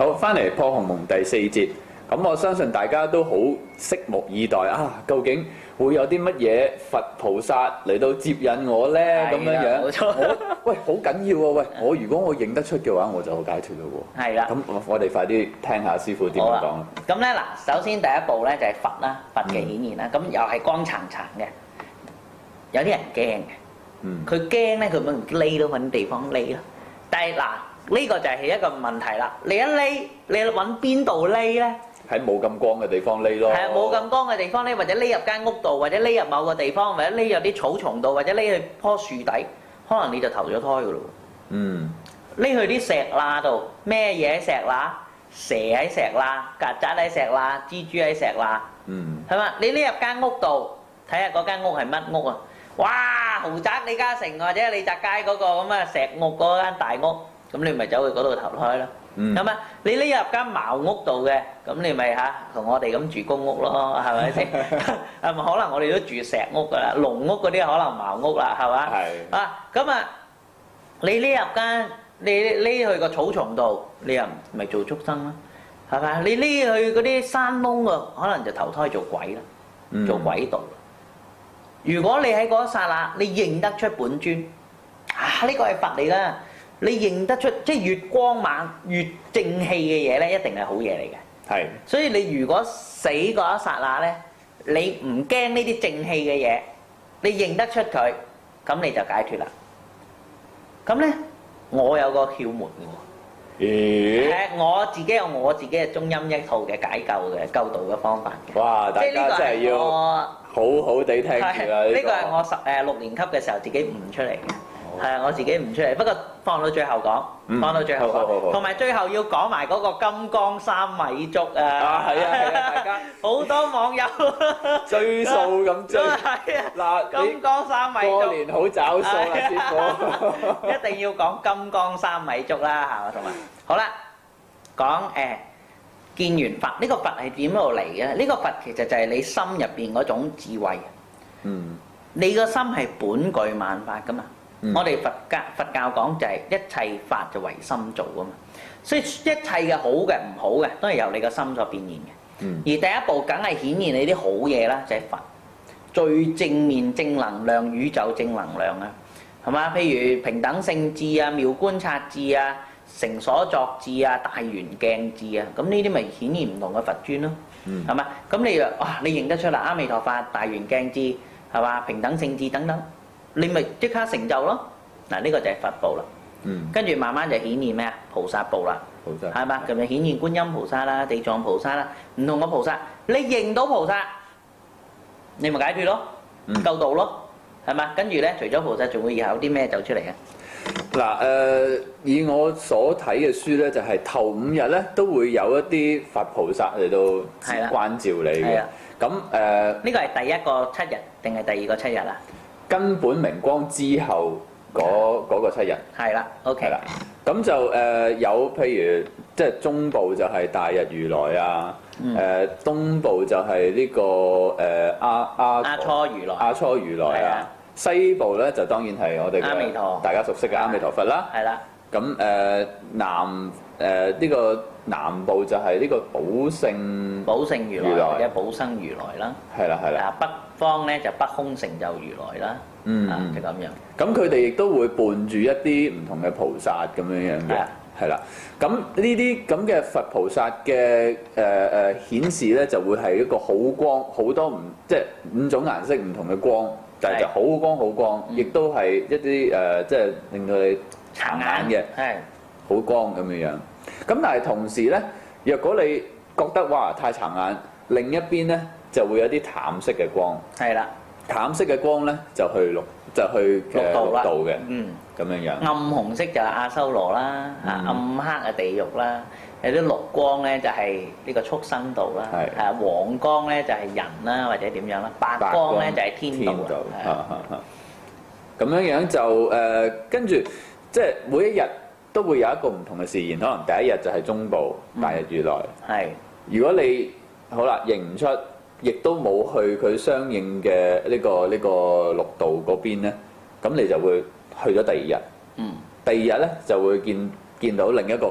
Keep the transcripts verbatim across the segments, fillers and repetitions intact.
好，翻嚟破鴻蒙第四節，咁我相信大家都好拭目以待啊！究竟會有啲乜嘢佛菩薩嚟到接引我咧？咁樣樣， 冇錯。 我喂好緊要啊！喂，我如果我認得出嘅話，我就好解脫咯喎。係啦。咁我哋快啲聽下師傅點樣講啦。 咁咧嗱，首先第一步咧就係佛啦，佛嘅顯現啦。咁、嗯、又係光燦燦嘅，有啲人驚嘅。嗯。佢驚咧，佢咪匿到揾地方匿咯。但係嗱，呢、這個就係一個問題啦。你一匿，你揾邊度匿咧？ 喺冇咁光嘅地方匿咯。係啊， 冇咁光嘅地方匿，或者匿入間屋度，或者匿入某個地方，或者匿入啲草叢度，或者匿去棵樹底，可能你就投咗胎噶咯。嗯。匿去啲石罅度，咩嘢喺石罅？蛇喺石罅，曱甴喺石罅，蜘蛛喺石罅。嗯。係嘛？你匿入間屋度，睇下嗰間屋係乜屋啊？哇！豪宅李嘉誠或者李澤楷嗰個咁啊石屋嗰間大屋，咁你咪走去嗰度投胎咯。咁啊，你匿入間茅屋度嘅，咁你咪嚇同我哋咁住公屋咯，係咪先？係咪可能我哋都住石屋噶啦，農屋嗰啲可能茅屋啦，係嘛？係。啊，咁啊，你匿入間，你匿去個草叢度，你又咪做畜生啦，係咪？你匿去嗰啲山窿啊，可能就投胎做鬼啦，做鬼道。如果你喺嗰一剎那，你認得出本尊，啊呢個係佛嚟噶。你認得出，即係越光猛越正氣嘅嘢咧，一定係好嘢嚟嘅。係。所以你如果死嗰一剎那咧，你唔驚呢啲正氣嘅嘢，你認得出佢，咁你就解脫啦。咁咧，我有個竅門嘅喎。咦？誒，我自己有我自己嘅中陰一套嘅解救嘅救度嘅方法嘅。哇！大家真係要好好地聽住啦。呢個係我十誒六年級嘅時候自己悟出嚟嘅。係啊，我自己唔出嚟，不過放到最後講，嗯、放到最後講，同埋最後要講埋嗰個金剛三米足啊！啊，係啊，係啊，大家好多網友追數咁追，係啊，嗱，金剛三米足，過年好找數啊，師傅，一定要講金剛三米足啦，係嘛，同埋好啦，講誒、呃、見完佛，呢、這個佛係點度嚟嘅？呢、這個佛其實就係你心入邊嗰種智慧，嗯，你個心係本具萬法噶嘛。嗯、我哋佛教佛教講就係一切法就唯心造啊嘛，所以一切嘅好嘅唔好嘅都係由你個心所變現嘅。嗯、而第一步梗係顯現你啲好嘢啦，就係、是、佛最正面正能量宇宙正能量啊，係嘛？譬如平等性智啊、妙觀察智啊、成所作智啊、大圓鏡智啊，咁呢啲咪顯現唔同嘅佛尊咯，係嘛？咁你哇你認得出啦，阿彌陀佛、大圓鏡智係嘛？平等性智等等。你咪即刻成就咯！嗱，呢個就係佛部啦。嗯。跟住慢慢就顯現咩啊？菩薩部啦。菩薩。係嘛？咁就顯現觀音菩薩啦、地藏菩薩啦，唔同嘅菩薩，你認到菩薩，你咪解脫咯，救度咯，係嘛？跟住咧，除咗菩薩，仲會有啲咩走出嚟啊？ 嗱誒，以我所睇嘅書咧，就係頭五日咧都會有一啲佛菩薩嚟到關照你嘅。咁誒， 呢個係第一個七日定係第二個七日啊？ 根本明光之後嗰嗰個七日係啦 ，OK 啦， 咁就誒有譬如即係中部就係大日如來啊，誒東部就係呢個誒阿阿阿初如來， 阿初如來啊，西部咧就當然係我哋阿彌陀， 大家熟悉嘅阿彌陀佛啦，係啦，咁誒南誒呢個南部就係呢個寶勝寶勝如來或者寶生如來啦，係啦係啦，北方咧就北空成就如來啦，嗯，就咁樣。咁佢哋亦都會伴住一啲唔同嘅菩薩咁樣樣嘅，係啦。咁呢啲咁嘅佛菩薩嘅誒誒顯示咧，就會係一個好光，好多唔即係五種顏色唔同嘅光，但係就好光好光，亦都係一啲誒即係令到你殘眼嘅，係好光咁樣樣。咁但係同時咧，若果你覺得哇太殘眼，另一邊咧，就會有啲淡色嘅光，係啦，淡色嘅光咧就去綠就去嘅綠道嘅，嗯，咁樣樣。暗紅色就係阿修羅啦，啊暗黑嘅地獄啦，有啲綠光咧就係呢個畜生道啦，係啊黃光咧就係人啦或者點樣啦，白光咧就係天道，咁樣樣就誒跟住即係每一日都會有一個唔同嘅示現，可能第一日就係中部大日如來，係如果你好啦認唔出。亦都冇去佢相應嘅呢個呢個綠道嗰邊咧，咁你就會去咗第二日。嗯。第二日咧就會見見到另一個佛，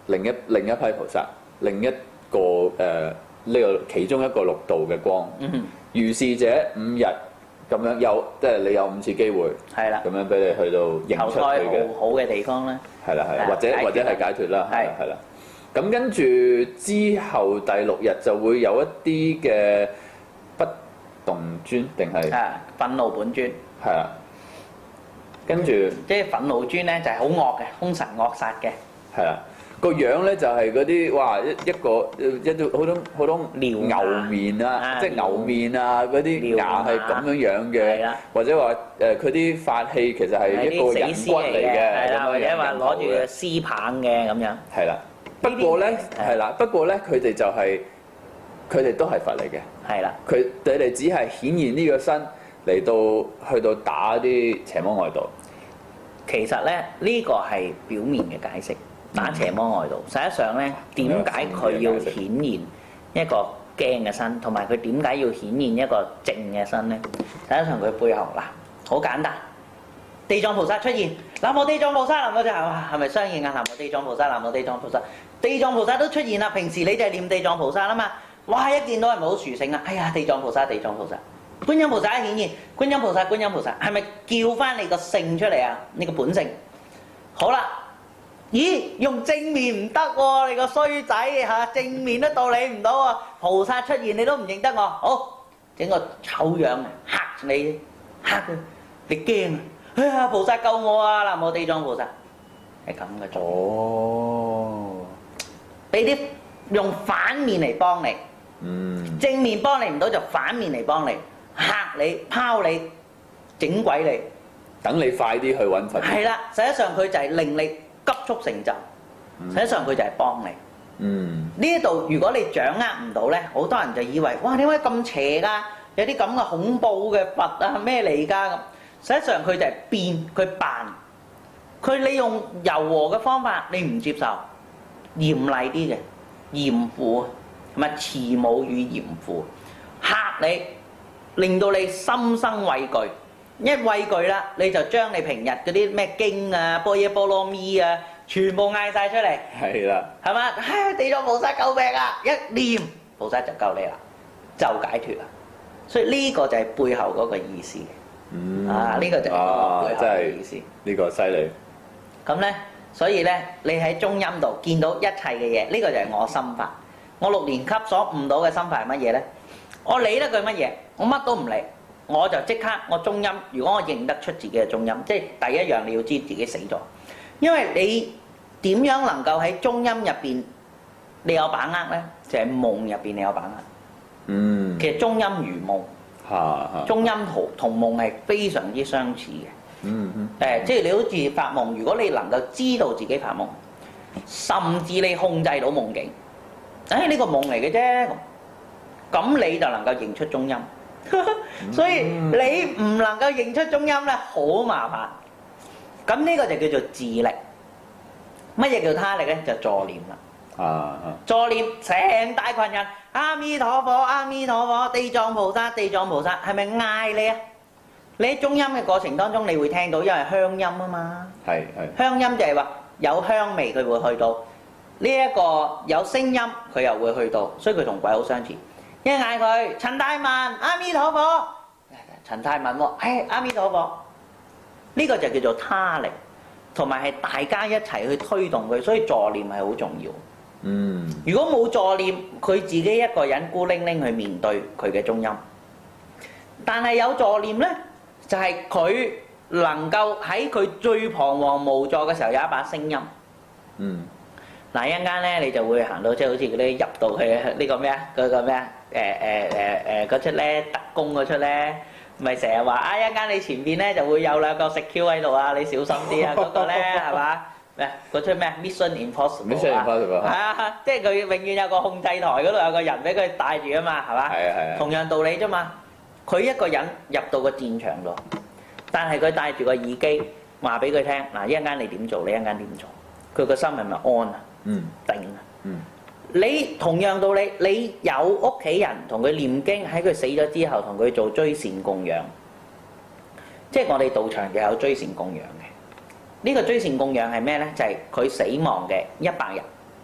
另一另一批菩薩，另一個誒呢、呃、個其中一個六道嘅光。嗯哼。如是者五日咁樣有，即係你有五次機會。係啦。咁樣俾你去到認出佢嘅好好嘅地方咧。係啦係啦，或者或者係解脫啦。係係啦。咁跟住之後第六日就會有一啲嘅不動尊定係？係憤怒本尊。 係啦。跟住， 即係憤怒尊咧，就係好惡嘅，兇神惡煞嘅。 係啦，個樣咧就係嗰啲哇一一個一啲好多好多牛面啊，即係牛面啊嗰啲牙係咁樣樣嘅，或者話誒佢啲法器其實係一個人骨嚟嘅， 係啦，或者話攞住個絲棒嘅咁樣。 係啦，不過咧係啦，不過咧佢哋就係佢哋都係佛嚟嘅。係啦，佢佢哋只係顯現呢個身。嚟到去到打啲邪魔外道， 其實咧呢個係表面嘅解釋，打邪魔外道。實際上咧，點解佢要顯現一個驚嘅身，同埋佢點解要顯現一個靜嘅身咧？實際上佢背後嗱，好簡單，地藏菩薩出現，南無地藏菩薩，南無就係係咪相應啊？南無地藏菩薩，南無地藏菩薩，地藏菩薩都出現啦。平時你就係念地藏菩薩啊嘛，哇！一見到係咪好殊勝啊？哎呀，地藏菩薩，地藏菩薩。觀音菩薩一顯現，觀音菩薩，觀音菩薩，係咪叫翻你個性出嚟啊？你個本性。好啦，咦？用正面唔得喎，你個衰仔嚇，正面都道理唔到喎。菩薩出現你都唔認得我，好整個醜樣嚇你，嚇佢，你驚啊！哎呀，菩薩救我啊！南無地藏菩薩，係咁嘅做。哦，俾啲用反面嚟幫你，嗯，正面幫你唔到就反面嚟幫你。嚇你、拋你、整鬼你， 等你快啲去揾佛。 係啦，實際上佢就係令你急速成就，實際上佢就係幫你。嗯，呢一度如果你掌握唔到咧，好多人就以為哇點解咁邪㗎？有啲咁嘅恐怖嘅佛啊咩嚟㗎咁？實際上佢就係變，佢扮，佢利用柔和嘅方法，你唔接受，嚴厲啲嘅嚴父，同埋慈母與嚴父嚇你。令到你心生畏懼，一畏懼啦，你就將你平日嗰啲咩經啊、般若波羅蜜啊，全部嗌晒出嚟。係啦，係嘛？唉，地藏菩薩救命啊！一念菩薩就救你啦，就解脫啦。所以呢個就係背後嗰個意思。嗯，啊，呢個就係背後嘅意思。 呢個犀利。 咁咧，所以咧，你喺中陰度見到一切嘅嘢，呢個就係我心法。我六年級所悟到嘅心法係乜嘢咧？我理得佢乜嘢？我乜都唔理，我就即刻我中陰。如果我認得出自己嘅中陰，即係第一樣你要知自己死咗。因為你點樣能夠喺中陰入邊你有把握咧？就係夢入邊你有把握。嗯。其實中陰如夢。嚇嚇。中陰同同夢係非常之相似嘅。嗯嗯。誒，即係你好似發夢，如果你能夠知道自己發夢，甚至你控制到夢境，誒呢個夢嚟嘅啫。咁你就能夠認出中陰，所以你唔能夠認出中陰咧，好麻煩。咁呢個就叫做自力。乜嘢叫他力咧？就助念啦。啊啊！助念成大群人，阿彌陀佛，阿彌陀佛，地藏菩薩，地藏菩薩，係咪嗌你啊？你喺中陰嘅過程當中，你會聽到，因為香音啊嘛。係係。香音就係話有香味，佢會去到；呢一個有聲音，佢又會去到，所以佢同鬼好相似。一嗌佢陳太文，阿彌陀佛，陳太文喎，誒阿彌陀佛，呢個就叫做他力，同埋係大家一齊去推動佢，所以助念係好重要。嗯，如果冇助念，佢自己一個人孤零零去面對佢嘅中陰，但係有助念咧，就係佢能夠喺佢最彷徨無助嘅時候有一把聲音。嗯。嗱，一陣間咧，你就會行到即係好似嗰啲入到去呢個咩啊？嗰個咩啊？誒誒誒誒嗰出咧特工嗰出咧，咪成日話啊！一陣間你前邊咧就會有兩個食 Q 喺度啊，你小心啲啊！嗰個咧係嘛？咩？嗰出咩 Mission Impossible 啊？係啊，即係佢永遠有個控制台嗰度有個人俾佢帶住啊嘛，係嘛？係啊係啊。同樣道理啫嘛，佢一個人入到個戰場度，但係佢帶住個耳機話俾佢聽嗱，一陣間你點做？你一陣間點做？佢個心係咪安啊？嗯，定啊！嗯，你同樣道理，你有屋企人同佢念經，喺佢死咗之後，同佢做追善供養，即係我哋道場就有追善供養嘅。呢個追善供養係咩咧？就係佢死亡嘅一百日，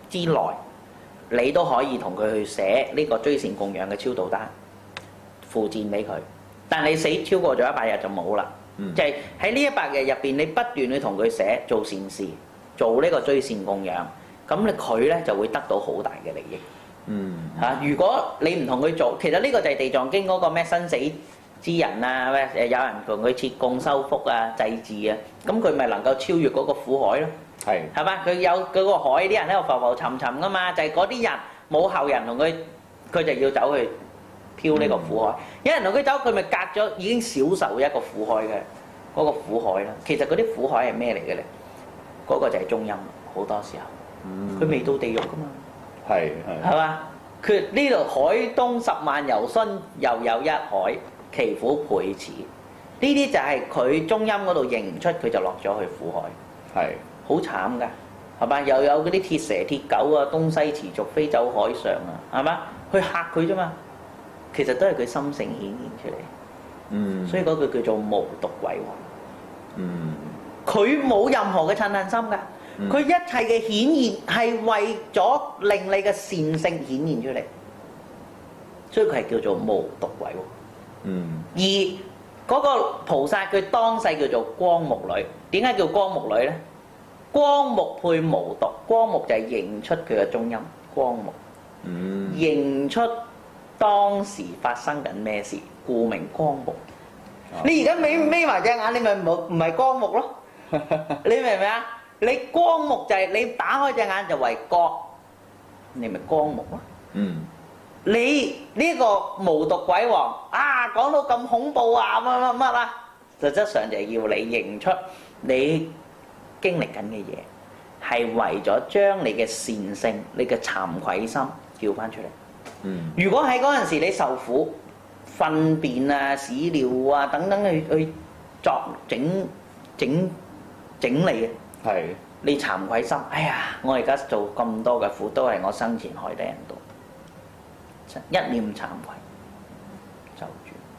之內，你都可以同佢去寫呢個追善供養嘅超度單附薦俾佢。但你死超過咗一百日就冇啦。嗯、就係喺呢一百日入邊，你不斷去同佢寫做善事，做呢個追善供養，咁你佢咧就會得到好大嘅利益。嗯嚇、啊，如果你唔同佢做，其實呢個就係地藏經嗰個咩生死之人啊，咩誒有人同佢設供修福啊、祭祀啊，咁佢咪能夠超越嗰個苦海咯？係係嘛？佢有嗰個海啲人喺度浮浮沉沉噶嘛，就係嗰啲人冇後人同佢，佢就要走去漂呢個苦海。嗯、有人同佢走，佢咪隔咗已經少受一個苦海嘅嗰、嗰個苦海啦。其實嗰啲苦海係咩嚟嘅咧？嗰、嗰個就係中陰，好多時候佢未到地獄噶嘛。係係係嘛？佢呢度海東十萬由旬，又有一海，其苦倍此。呢啲就係佢中陰嗰度認唔出，佢就落咗去苦海。係好慘㗎，係嘛？又有嗰啲鐵蛇鐵狗啊，東西持續飛走海上啊，係嘛？去嚇佢啫嘛。其實都係佢心性顯現出嚟。嗯。所以嗰句叫做無毒鬼王。嗯。佢冇任何嘅嗔恨心㗎。佢、嗯、一切嘅顯現係為咗令你嘅善性顯現出嚟，所以佢係叫做無毒鬼喎。嗯。而嗰個菩薩佢當世叫做光目女，點解叫光目女咧？光目配無毒，光目就係認出佢嘅中陰，光目。嗯。認出當時發生緊咩事，故名光目。啊、你而家眯眯埋隻眼，你咪冇唔係光目咯？你明唔明啊？你光目就係你打開隻眼就為光，你咪光目咯。嗯。你呢個無毒鬼王啊，講到咁恐怖啊，乜乜乜啊，實質上就係要你認出你經歷緊嘅嘢，係為咗將你嘅善性、你嘅慚愧心叫翻出嚟。嗯。如果喺嗰陣時你受苦、糞便啊、屎尿啊等等去去作整整整理嘅。係，你慚愧心，哎呀！我而家做咁多嘅苦，都係我生前害得人多，一念慚愧就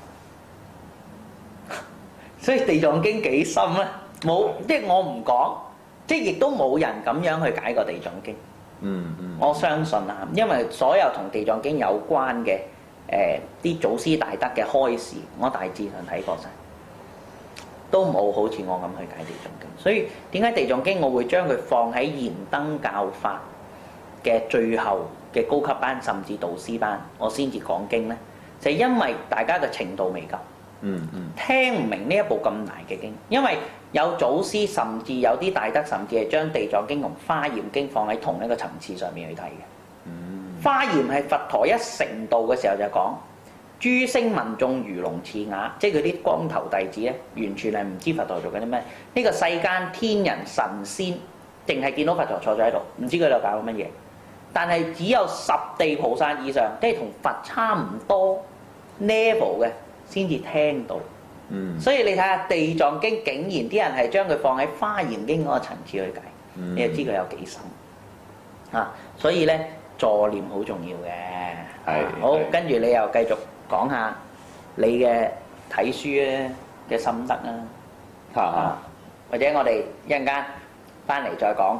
住。所以地藏經幾深咧？冇，即係我唔講，即係亦都冇人咁樣去解過地藏經。嗯嗯。我相信啊，因為所有同地藏經有關嘅誒啲祖師大德嘅開示，我大致上睇過晒。都冇好似我咁去解地藏經，所以點解地藏經我會將佢放喺燃燈教法嘅最後嘅高級班，甚至導師班，我先至講經呢？就係、是、因為大家嘅程度未夠，嗯嗯，聽唔明呢一部咁難嘅經，因為有祖師甚至有啲大德，甚至係將地藏經同華嚴經放喺同一個層次上面去睇嘅。嗯，華嚴係佛陀一成道嘅時候就講。諸聲聞眾如龍似啞，即係佢啲光頭弟子咧，完全係唔知佛陀做緊啲咩。呢、這個世間天人神仙，淨係見到佛陀坐咗喺度，唔知佢喺度搞緊乜嘢。但係只有十地菩薩以上，即係同佛差唔多 level 嘅，先至聽到。嗯。所以你睇下《地藏經》，竟然啲人係將佢放喺《華嚴經》嗰個層次去解，嗯、你就知佢有幾深。啊，所以咧助念好重要嘅。係。好，跟住你又繼續。講下你嘅睇書咧嘅心得啊，啊或者我哋一陣間翻嚟再講。